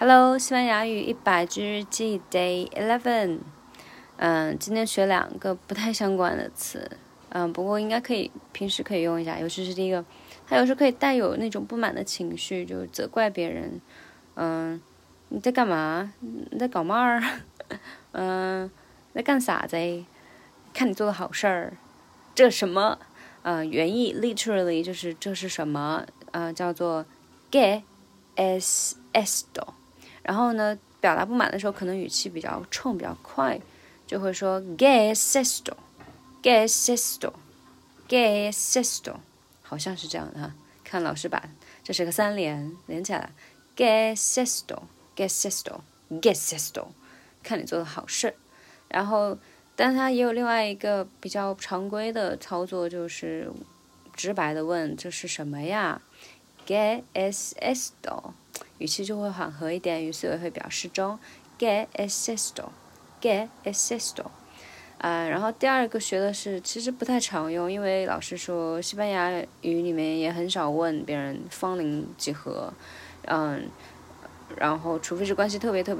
Hello，西班牙语100句日记 Day 11。今天学2个不太相关的词，不过应该平时可以用一下，尤其是第一个，它有时候可以带有那种不满的情绪，就责怪别人。你在干嘛？你在搞嘛儿？你在干啥子？看你做的好事儿，这什么？原意 literally 就是这是什么？叫做 ¿Qué es esto？然后呢，表达不满的时候，可能语气比较冲、比较快，就会说 ¿Qué es esto？ ¿Qué es esto？ ¿Qué es esto？ 好像是这样的哈。看老师把这是个3连起来 ¿Qué es esto？ ¿Qué es esto？ ¿Qué es esto？ 看你做的好事。然后，但它也有另外一个比较常规的操作，就是直白的问这是什么呀？ ¿Qué es esto？语气就会缓和一点，语速也会比较适中。¿Qué es esto？ ¿Qué es esto？ 然后第二个学的是，其实不太常用，因为老师说西班牙语里面也很少问别人芳龄几何，然后除非是关系特别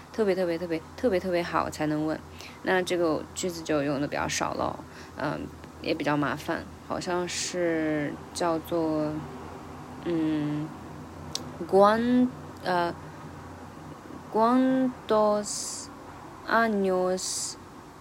好才能问，那这个句子就用的比较少了，也比较麻烦，好像是叫做¿Cuántos años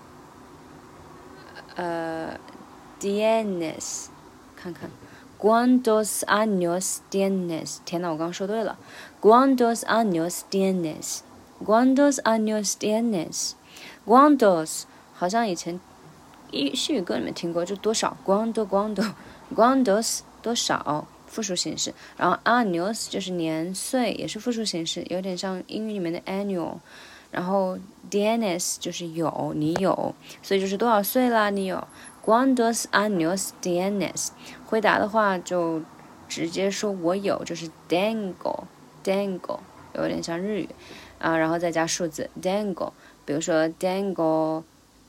tienes？ 看看 ¿Cuántos años tienes？ 天哪，我刚刚说对了 ¿Cuántos años tienes？ ¿Cuántos años tienes？ ¿Cuántos？ 好像以前西语歌里面听过，就多少 ¿Cuántos？ 多少复数形式，然后 años 就是年岁，也是复数形式，有点像英语里面的 annual。然后 tienes 就是有，你有，所以就是多少岁啦？你有 ¿Cuántos años tienes？ 回答的话就直接说我有，就是 tengo， 有点像日语然后再加数字 tengo， 比如说 tengo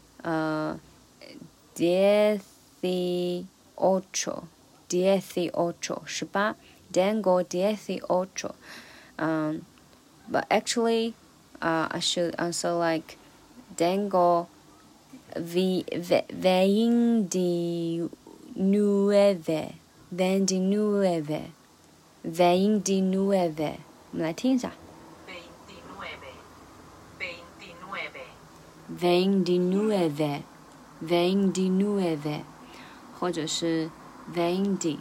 dieciocho 18 tengo 18 but actually I should answer like tengo 29 我们来听一下29或者是 20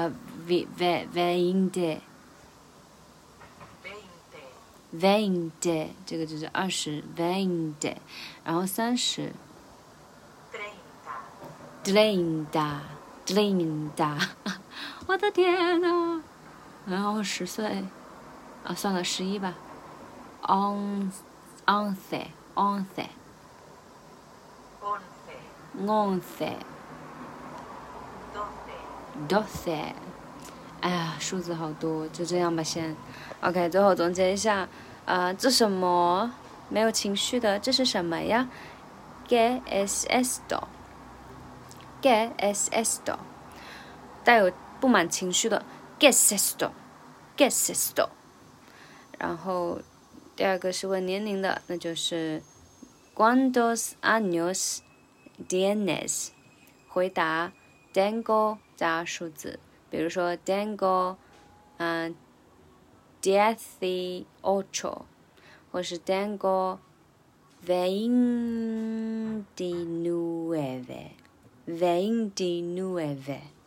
这个就是20 20， 然后30 30 我的天哪，然后10岁算了11吧 11 12，哎呀，数字好多，就这样吧先。OK， 最后总结一下，这什么没有情绪的？这是什么呀 ？¿Qué es esto？ ¿Qué es esto？ 带有不满情绪的 ¿Qué es esto？ ¿Qué es esto？ 然后第二个是问年龄的，那就是 ¿Cuántos años tienes？ 回答 tengo 加数字。比如说 tengo 18，或是 tengo 29